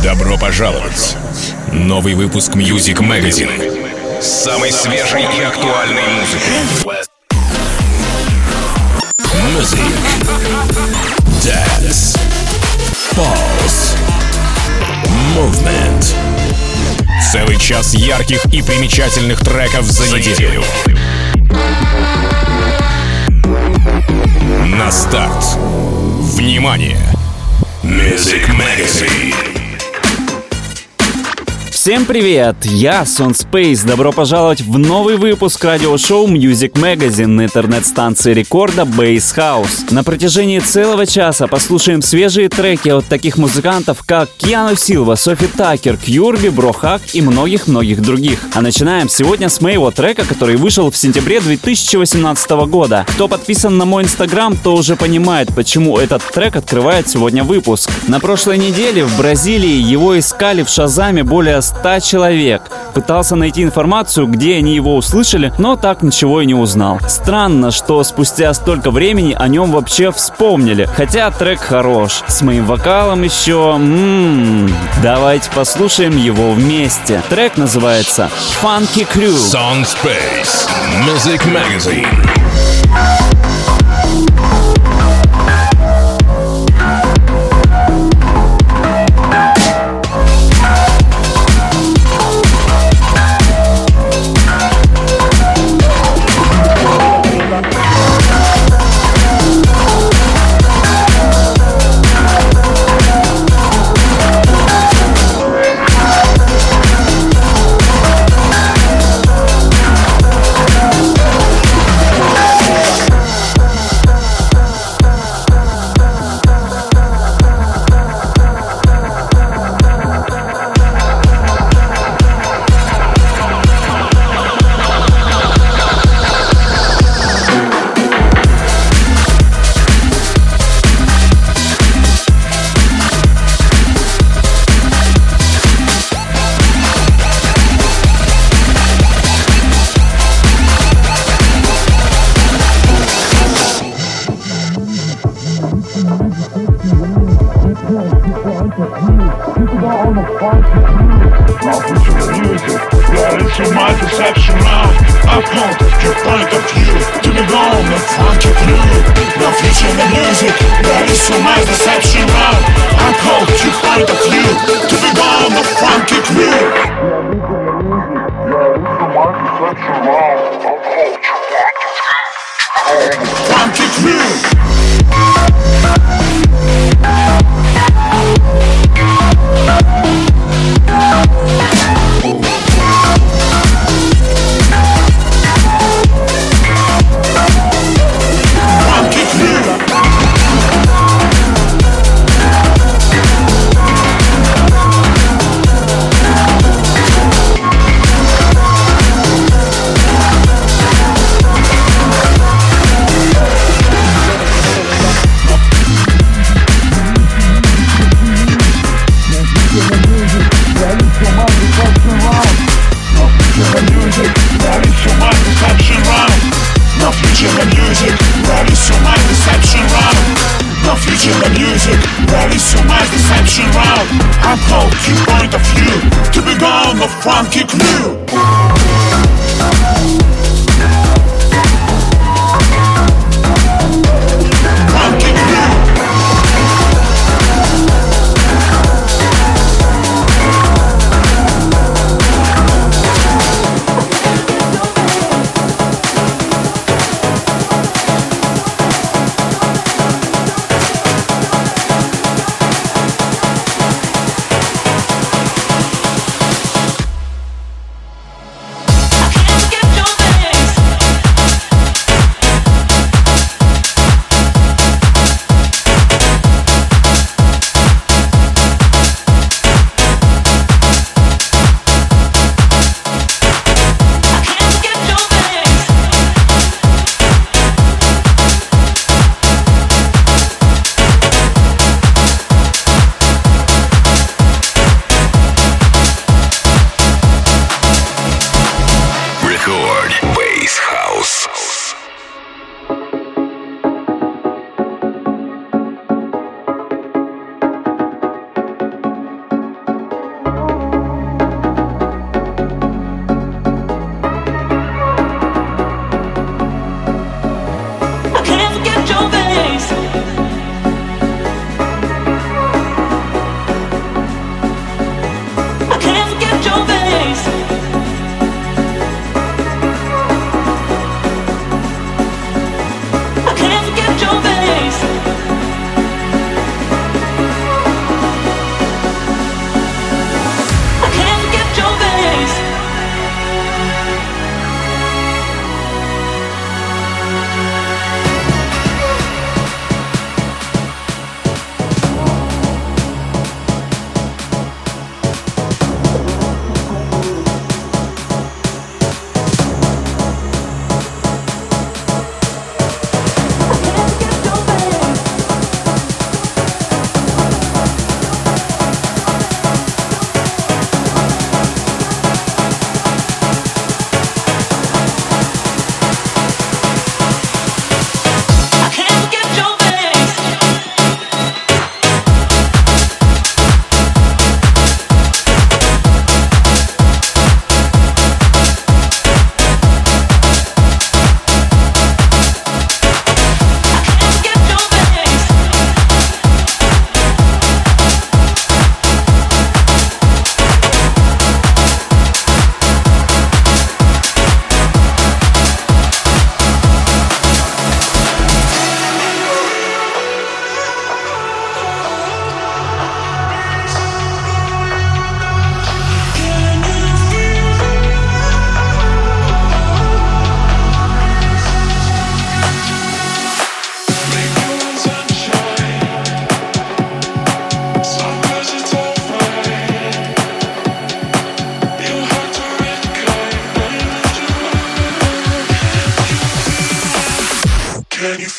Добро пожаловать! Новый выпуск Music Magazine с самой свежей и актуальной музыкой. Music, Dance, Pulse, Movement. Целый час ярких и примечательных треков за неделю. На старт. Внимание! Music Magazine. Всем привет! Я Son Space. Добро пожаловать в новый выпуск радиошоу Music Magazine на интернет-станции рекорда Bass House. На протяжении целого часа послушаем свежие треки от таких музыкантов, как Киану Силва, Софи Таккер, Кьюрби, Брохак и многих-многих других. А начинаем сегодня с моего трека, который вышел в сентябре 2018 года. Кто подписан на мой инстаграм, то уже понимает, почему этот трек открывает сегодня выпуск. На прошлой неделе в Бразилии его искали в Шазаме более 100 человек. Пытался найти информацию, где они его услышали, но так ничего и не узнал. Странно, что спустя столько времени о нем вообще вспомнили. Хотя трек хорош. С моим вокалом еще... Давайте послушаем его вместе. Трек называется Funky Crew. Son Space, Music Magazine.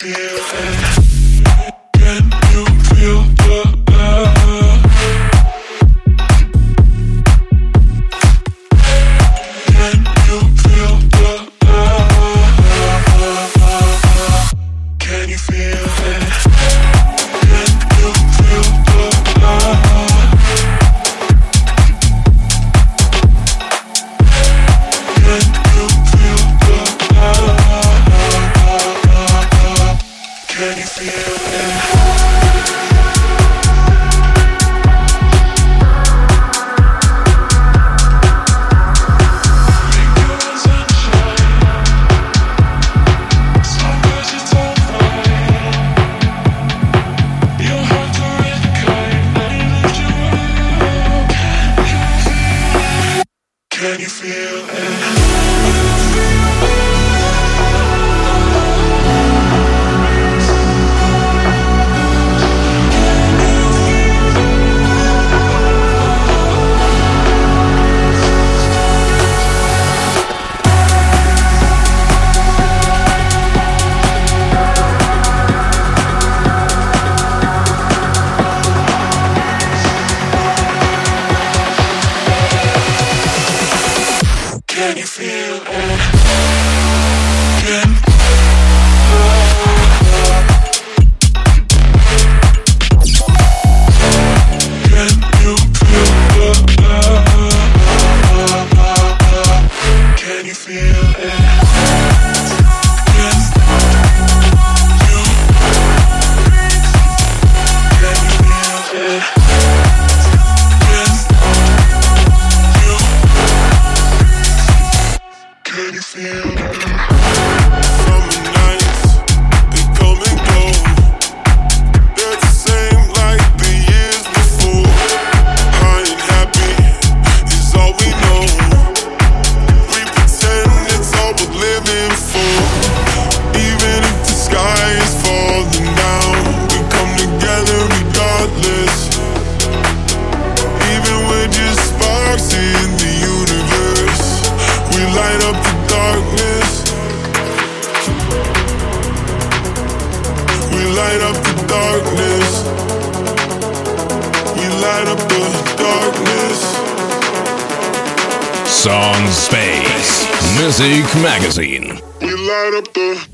Son Space Music Magazine. We light up the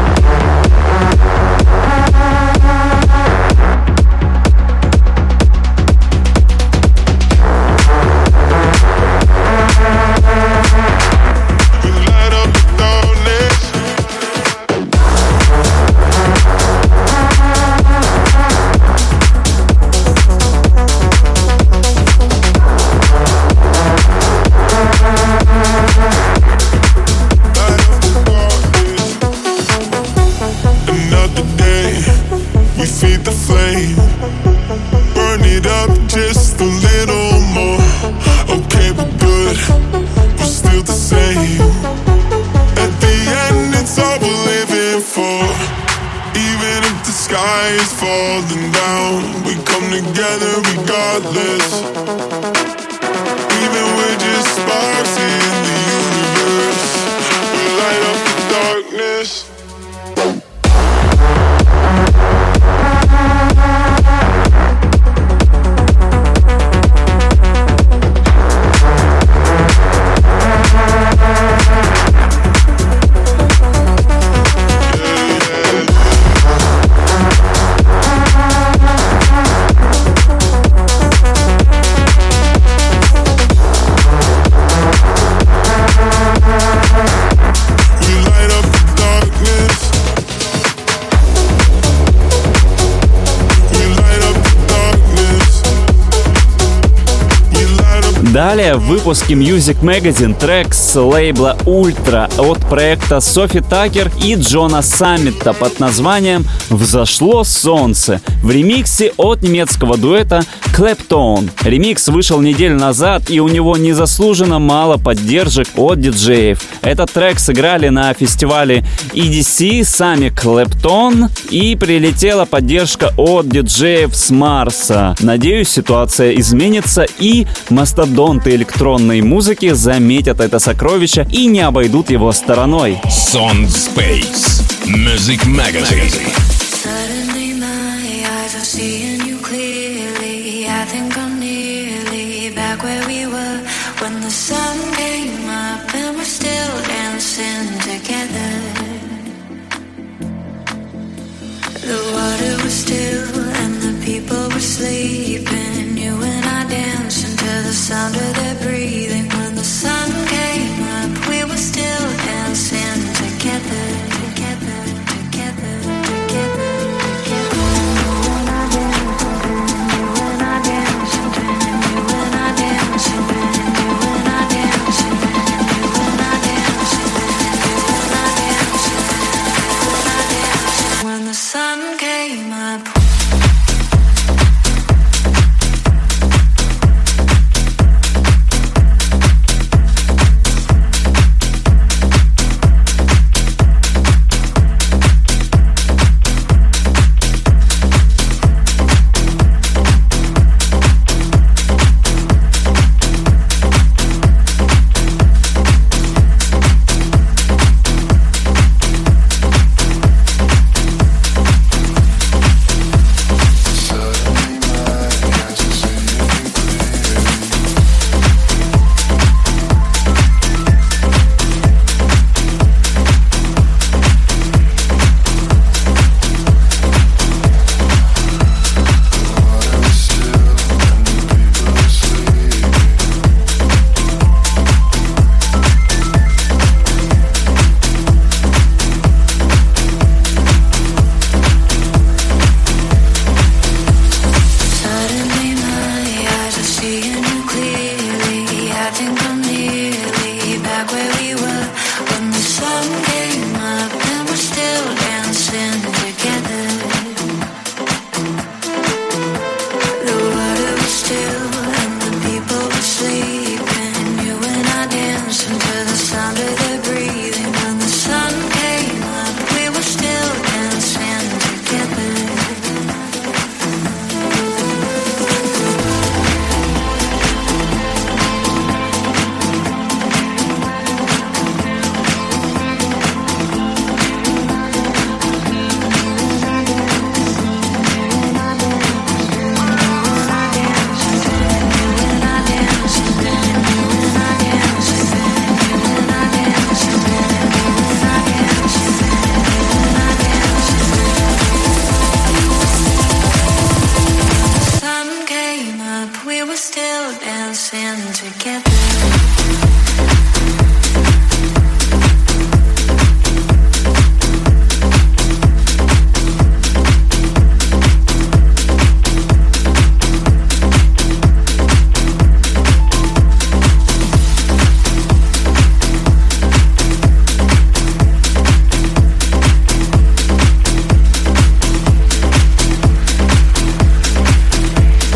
falling down, we come together regardless. Even we're just sparks in the universe. We light up the darkness. Далее в выпуске Music Magazine трек с лейбла Ultra от проекта Софи Такер и Джона Саммита под названием «Взошло солнце» в ремиксе от немецкого дуэта Clapton. Ремикс вышел неделю назад, и у него незаслуженно мало поддержек от диджеев. Этот трек сыграли на фестивале EDC сами Clapton, и прилетела поддержка от диджеев с Марса. Надеюсь, ситуация изменится, и мастодонты электронной музыки заметят это сокровище и не обойдут его стороной. Son Space Music Magazine. Suddenly my eyes are seeing you clearly. I think I'm nearly back where we were when the sun came up and we're still dancing together. The water was still and the people were sleeping. You and I dancing to the sound of their breathing. When the sun came up, we were still dancing together, together, together, together, together. You and I dancing, you and I dancing, you and I dancing, you and I dancing, you and I dancing, you and I dancing, you and I dancing. When the sun came up.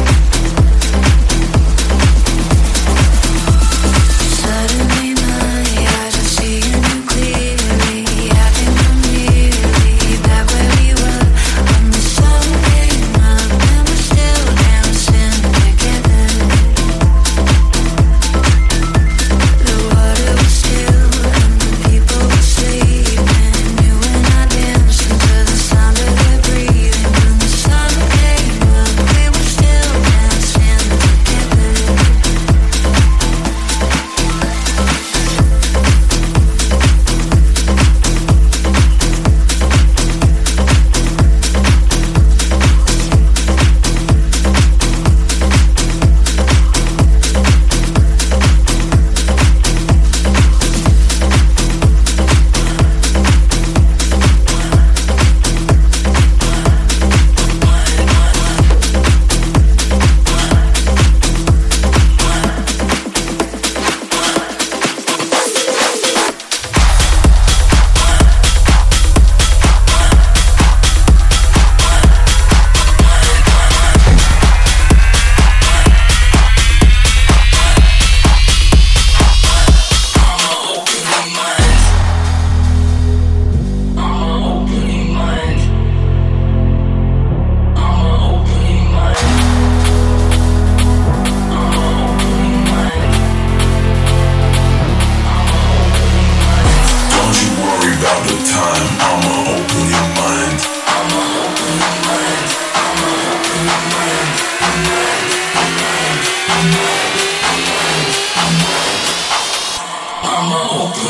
Suddenly my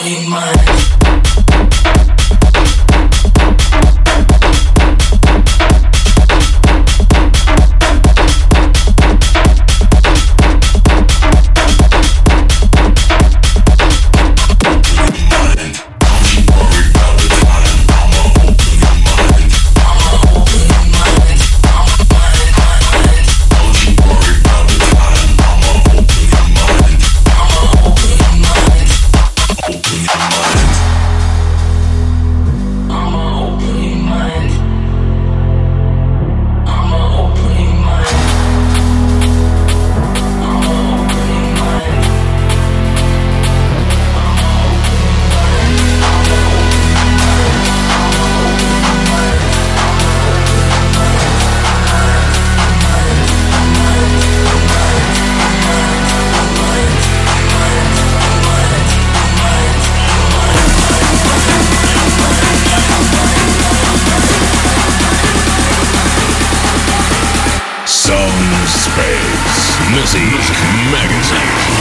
Music Magazine.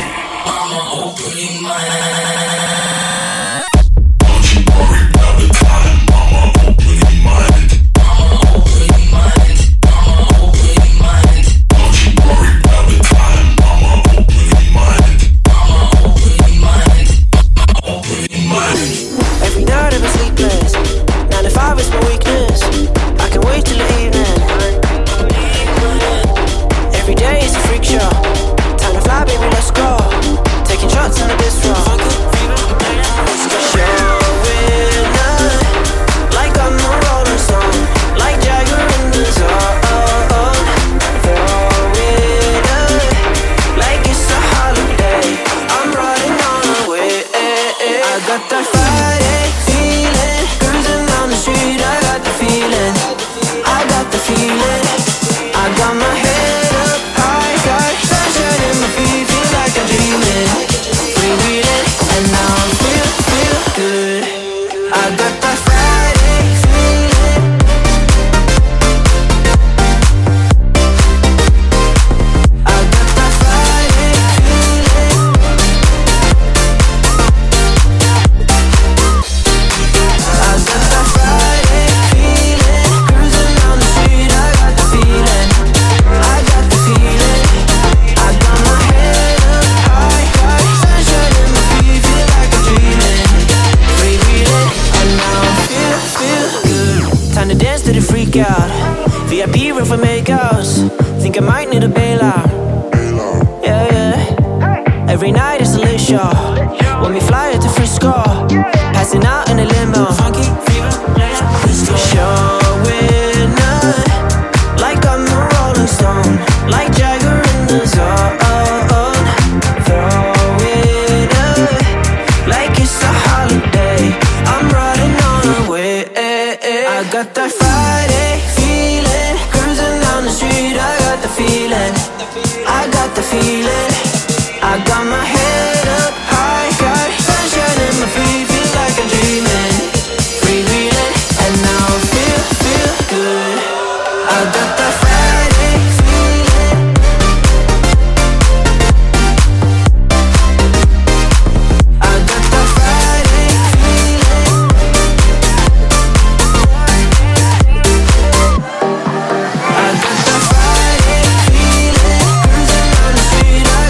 Street.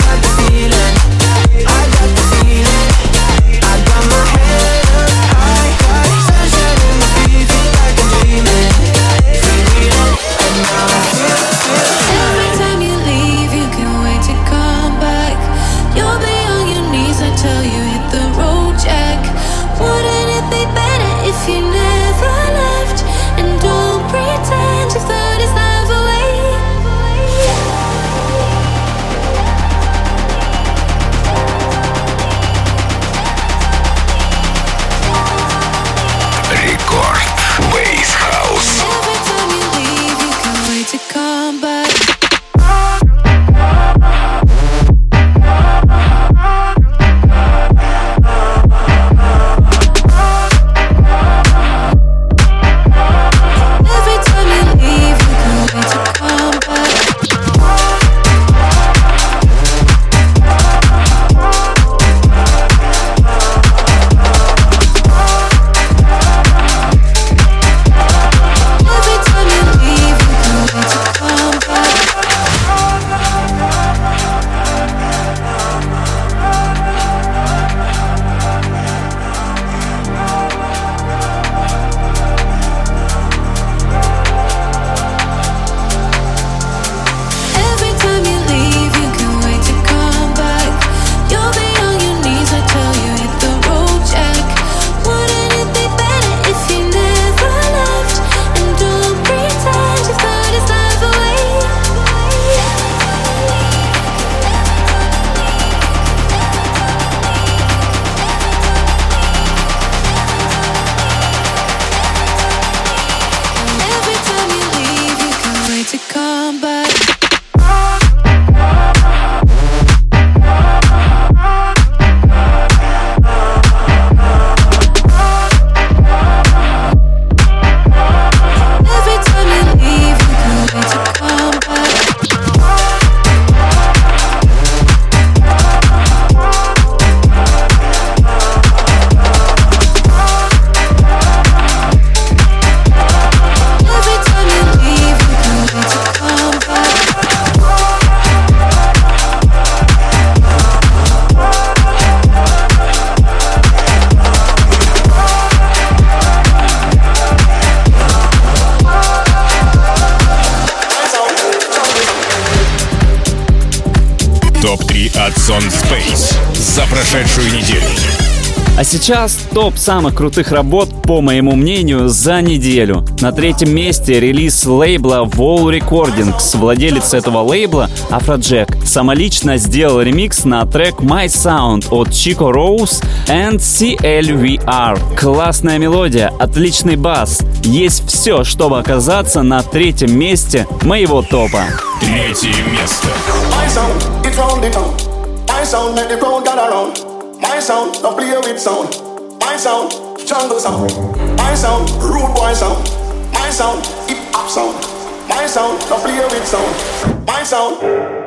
Топ-3 от Son Space за прошедшую неделю. А сейчас топ самых крутых работ, по моему мнению, за неделю. На третьем месте релиз лейбла Wall Recordings. Владелец этого лейбла, Afrojack, самолично сделал ремикс на трек My Sound от Chico Rose and CLVR. Классная мелодия, отличный бас. Есть все, чтобы оказаться на третьем месте моего топа. Третье место. My sound, it's round the town. My sound, make the crowd gather round. My sound, don't play with sound. My sound, jungle sound. My sound, rude boy sound. My sound, hip hop sound. My sound, don't play with sound. My sound.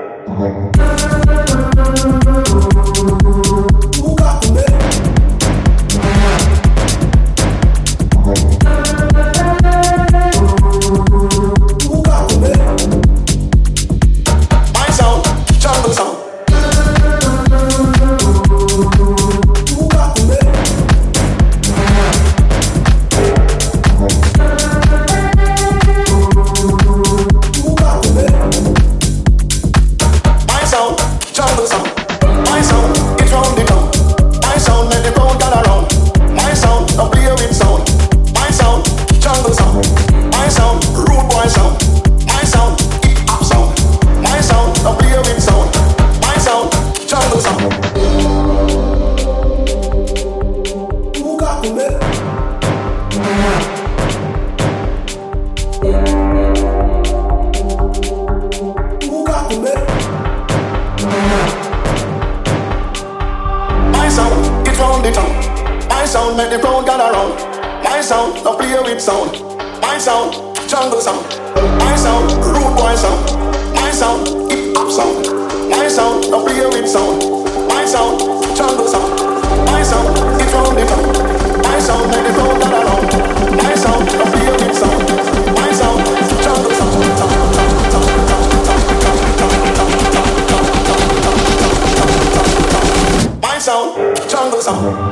Who got the bed? Who got the bed? My sound, jungle sound. Make the crowd gather round. My sound, don't play with sound. My sound, jungle sound. My sound, rude boy sound. My sound, hip hop sound. My sound, don't play with sound. My sound, jungle sound. My sound, it's round the town. My sound, make the crowd gather round. My sound, don't play with sound. My sound, jungle sound. My sound, jungle sound.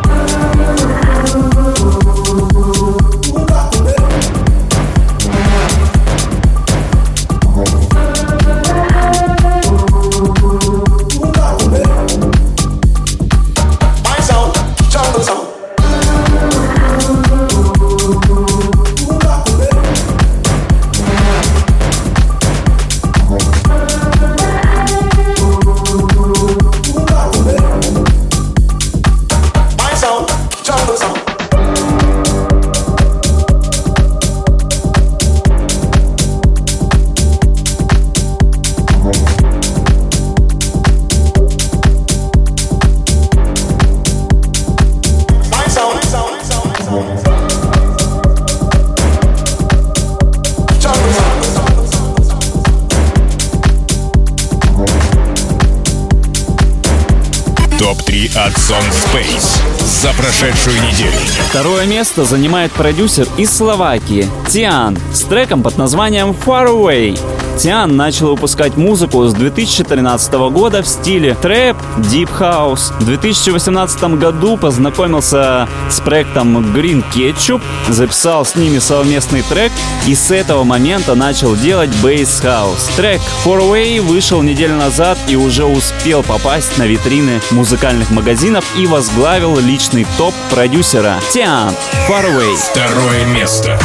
Топ-3 от Son Space за прошедшую неделю. Второе место занимает продюсер из Словакии Тиан с треком под названием Far Away. Тиан начал выпускать музыку с 2013 года в стиле трэп, дип хаус. В 2018 году познакомился с проектом Green Ketchup, записал с ними совместный трек и с этого момента начал делать бейс хаус. Трек Far Away вышел неделю назад и уже успел попасть на витрины музыкальных магазинов и возглавил личный топ продюсера Тиан. Far Away. Второе место.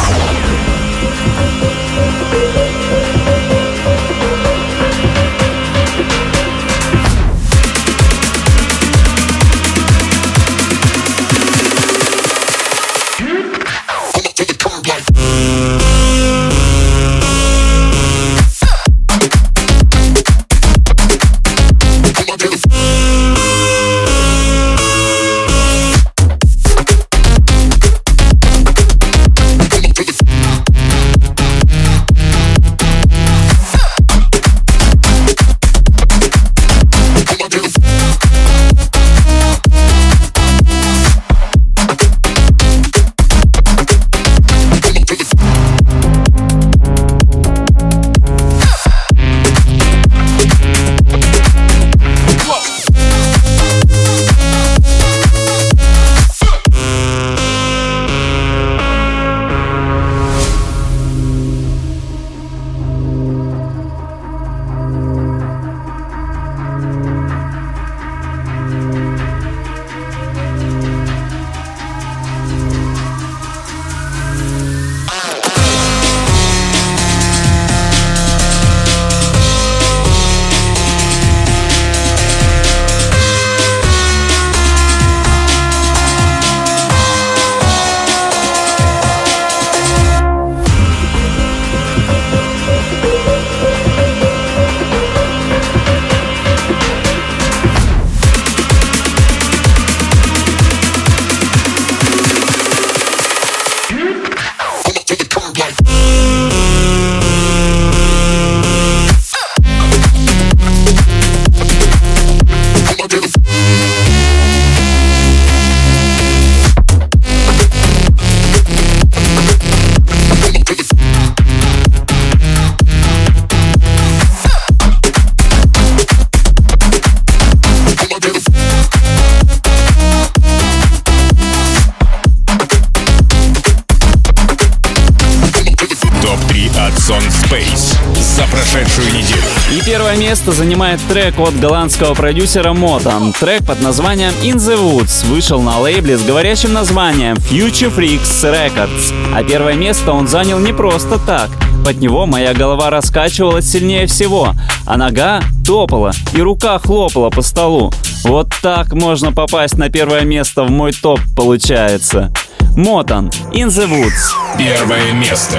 прошедшую неделю. И первое место занимает трек от голландского продюсера Motan. Трек под названием In the Woods вышел на лейбле с говорящим названием Future Freaks Records. А первое место он занял не просто так. Под него моя голова раскачивалась сильнее всего, а нога топала и рука хлопала по столу. Вот так можно попасть на первое место в мой топ, получается. Motan, In the Woods. Первое место.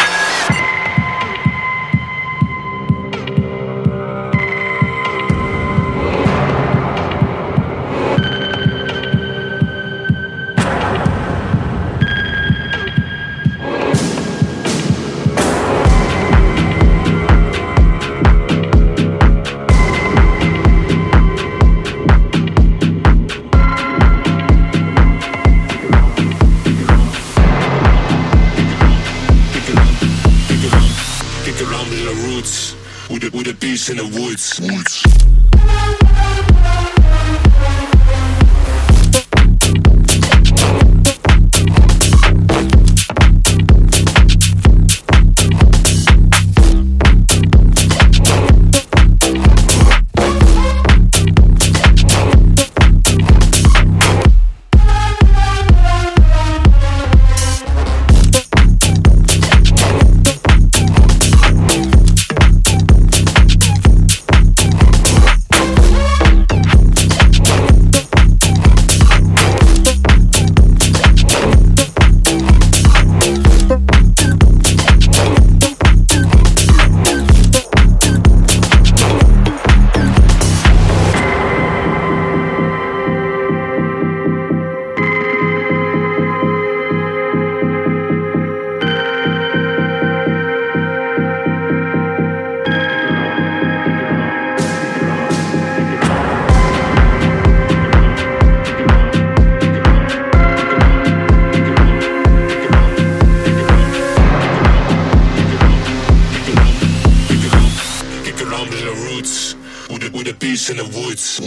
With a beast in the woods. With a beast in the woods.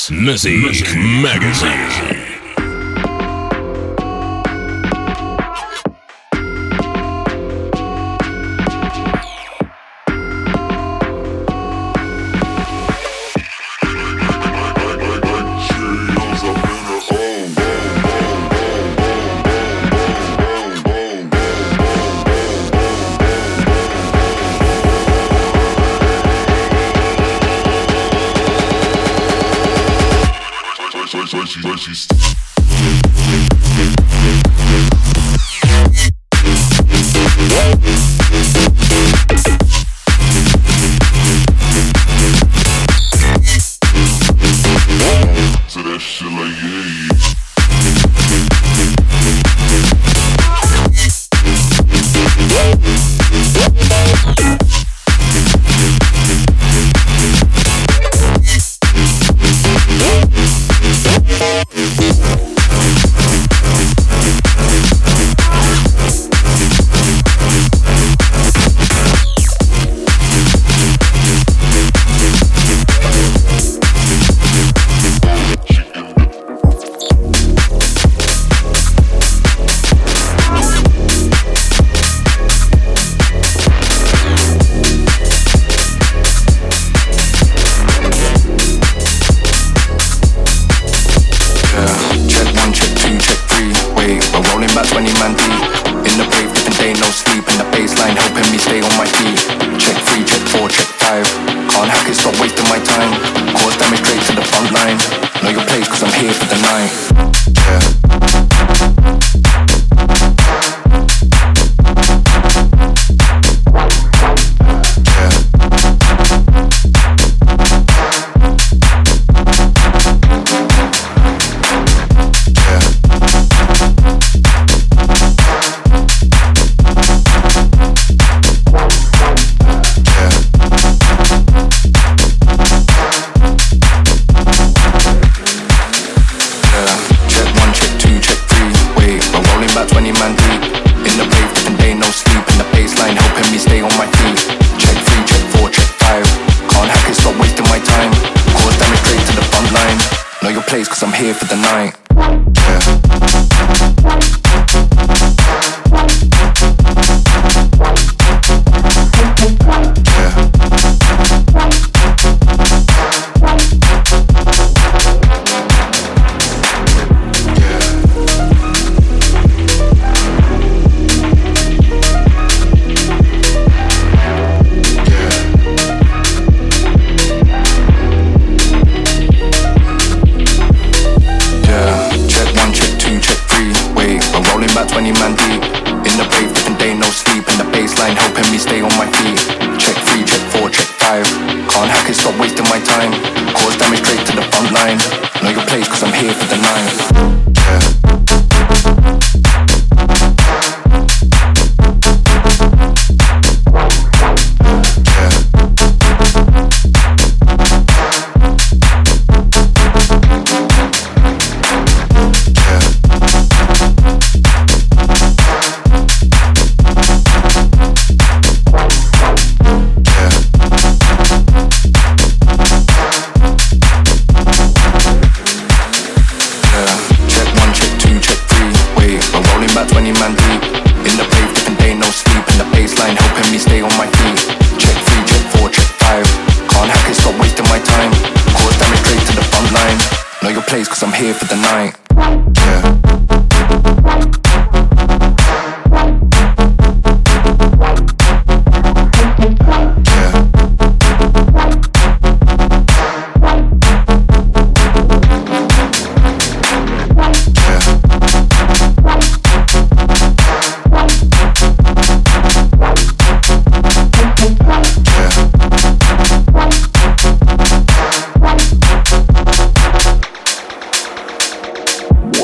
Music Magazine.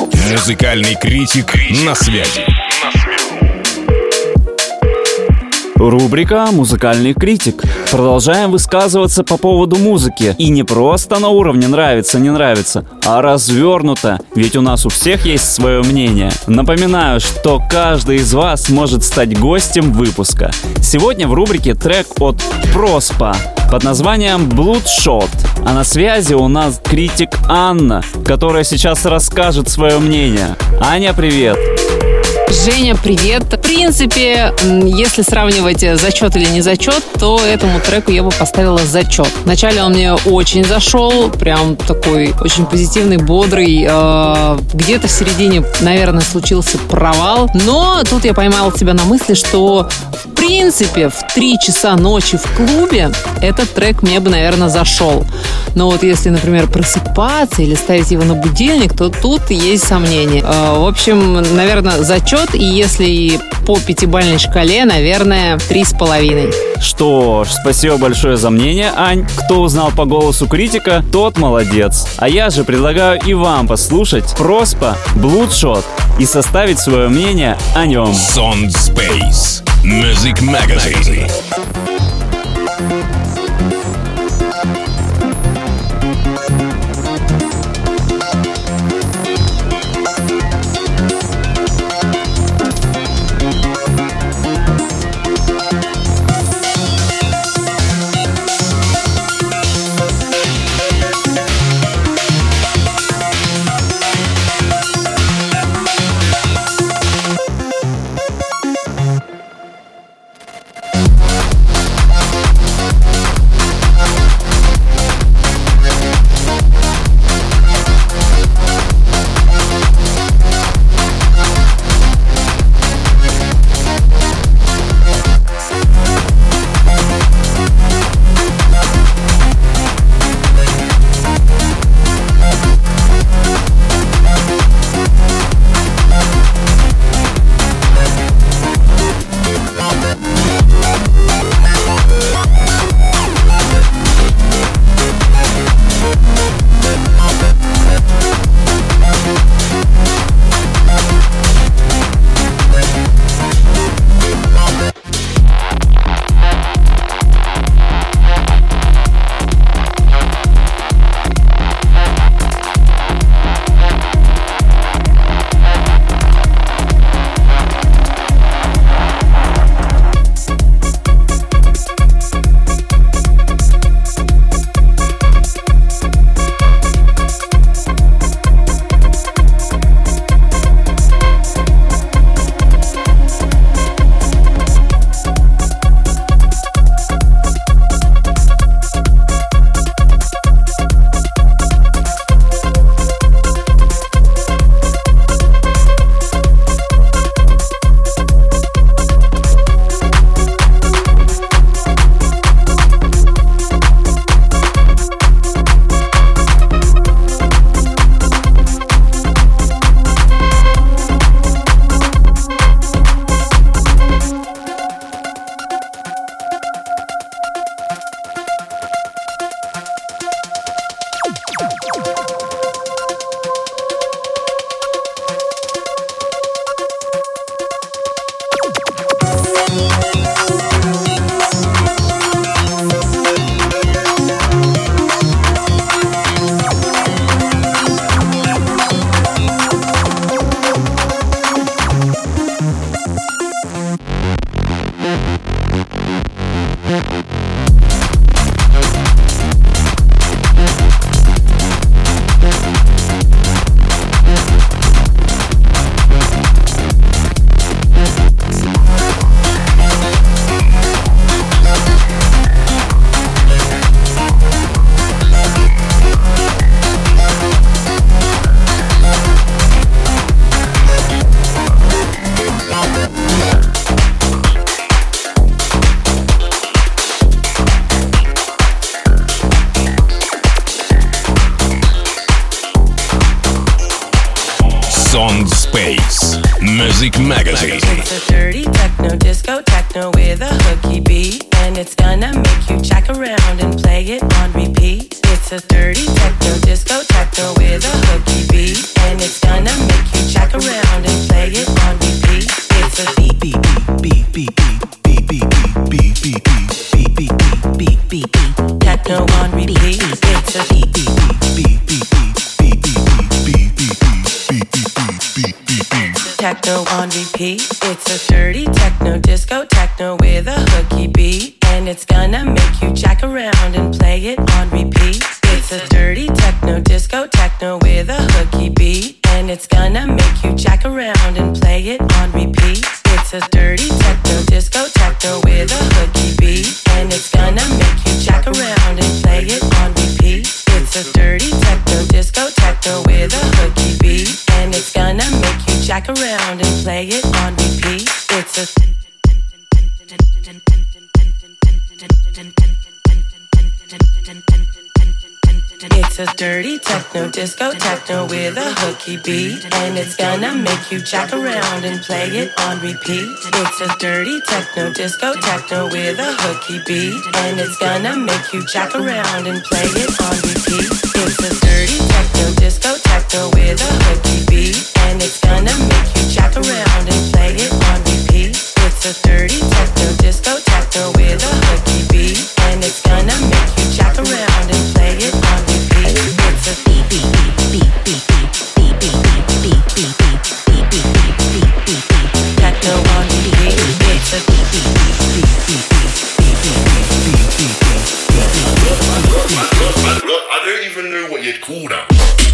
Музыкальный критик на связи. Рубрика «Музыкальный критик». Продолжаем высказываться по поводу музыки. И не просто на уровне нравится-не нравится, а развернуто. Ведь у нас у всех есть свое мнение. Напоминаю, что каждый из вас может стать гостем выпуска. Сегодня в рубрике трек от Проспа под названием Bloodshot. А на связи у нас критик Анна, которая сейчас расскажет свое мнение. Аня, привет! Женя, привет. В принципе, если сравнивать зачет или не зачет, то этому треку я бы поставила зачет. Вначале он мне очень зашел, прям такой очень позитивный, бодрый. Где-то в середине, наверное, случился провал. Но тут я поймала себя на мысли, что в принципе в 3 часа ночи в клубе этот трек мне бы, наверное, зашел. Но вот если, например, просыпаться или ставить его на будильник, то тут есть сомнения. В общем, наверное, зачет. И если по 5-бальной шкале, наверное, 3,5. Что ж, спасибо большое за мнение, Ань. Кто узнал по голосу критика, тот молодец. А я же предлагаю и вам послушать Проспа Bloodshot и составить свое мнение о нем. Sound Space Music Magazine. Sound Space Music Magazine. It's a dirty techno disco techno with a hooky beat, and it's gonna make you jack around and play it on repeat. It's a dirty techno disco techno with a hooky beat, and it's gonna make you jack around and play it on repeat. It's a beat beat beat beat beat beat beat beat beat. with a hooky beat, and it's gonna make you jack around and play it on repeat. It's a dirty techno disco techno with a hooky beat, and it's gonna make you jack around and play it on repeat. It's a dirty techno disco techno with a hooky beat, and it's gonna make you jack around and play it on repeat. It's a dirty techno disco techno with a hooky beat, and it's gonna make you jack around and play it on repeat. It's a It's a dirty techno disco techno with a hooky beat, and it's gonna make you jack around and play it on repeat. It's a dirty techno disco techno with a hooky beat, and it's gonna make you jack around and play it on repeat. It's a dirty techno disco techno with a hooky beat, and it's gonna make you jack around and play it on repeat. It's a dirty techno disco techno with a hooky beat, and it's gonna make you jack around and play it on repeat. It's a beep beep beep beep beep beep beep beep beep beep beep beep beep beep beep techno on repeat. It's a beep beep beep beep beep beep. Look, I don't even know what you'd call that.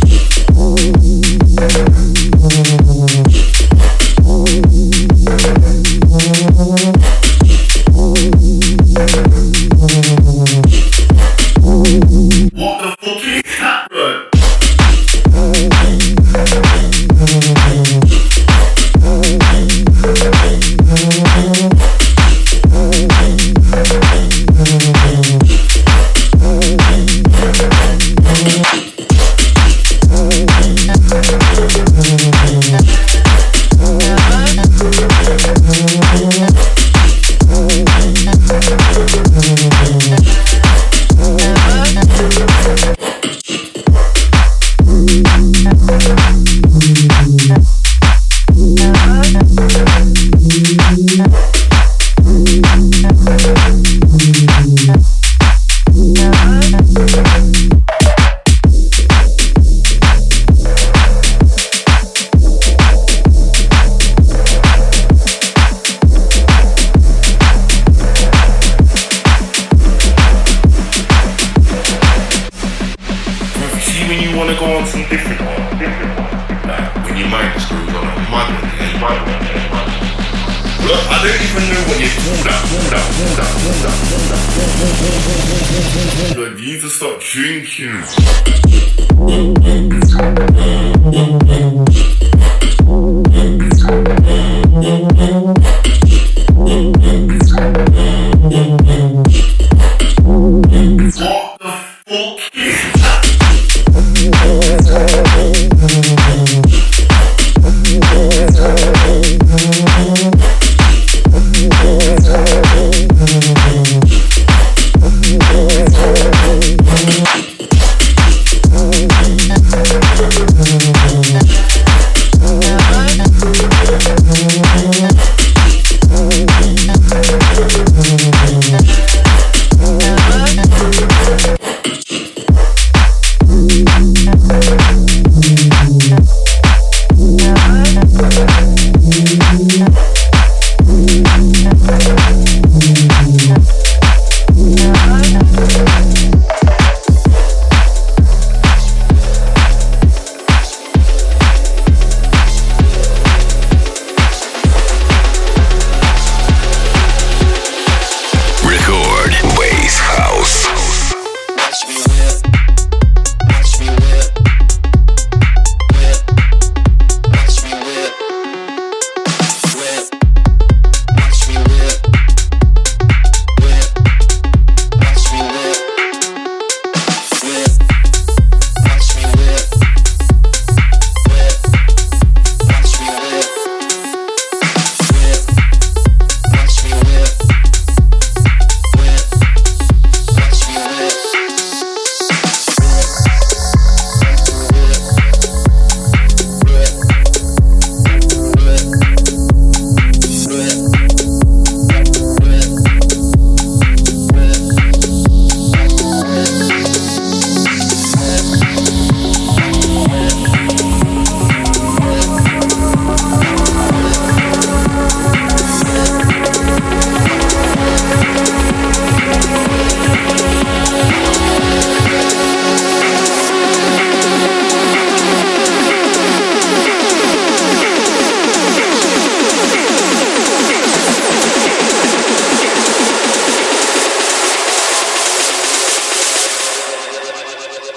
What the fuck is that, bro?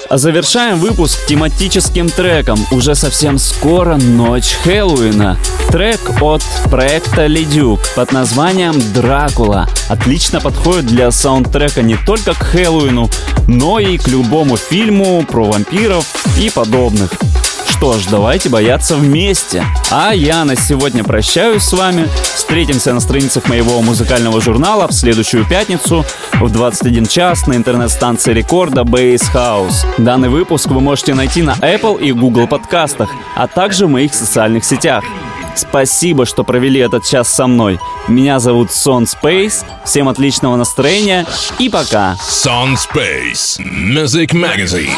А завершаем выпуск тематическим треком. Уже совсем скоро ночь Хэллоуина. Трек от проекта Ледюк под названием «Дракула». Отлично подходит для саундтрека не только к Хэллоуину, но и к любому фильму про вампиров и подобных. Что ж, давайте бояться вместе. А я на сегодня прощаюсь с вами. Встретимся на страницах моего музыкального журнала в следующую пятницу в 21 час на интернет-станции рекорда Bass House. Данный выпуск вы можете найти на Apple и Google подкастах, а также в моих социальных сетях. Спасибо, что провели этот час со мной. Меня зовут Сон Space. Всем отличного настроения и пока. Son Space Music Magazine.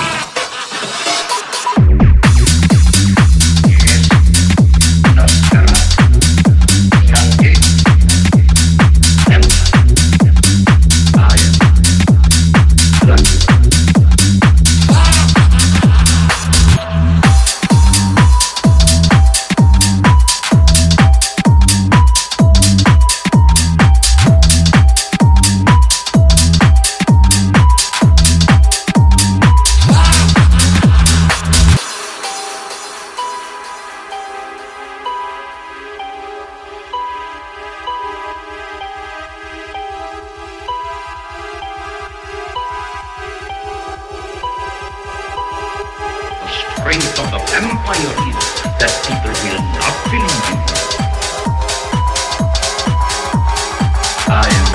Strength of the vampire is that people will not believe you. I am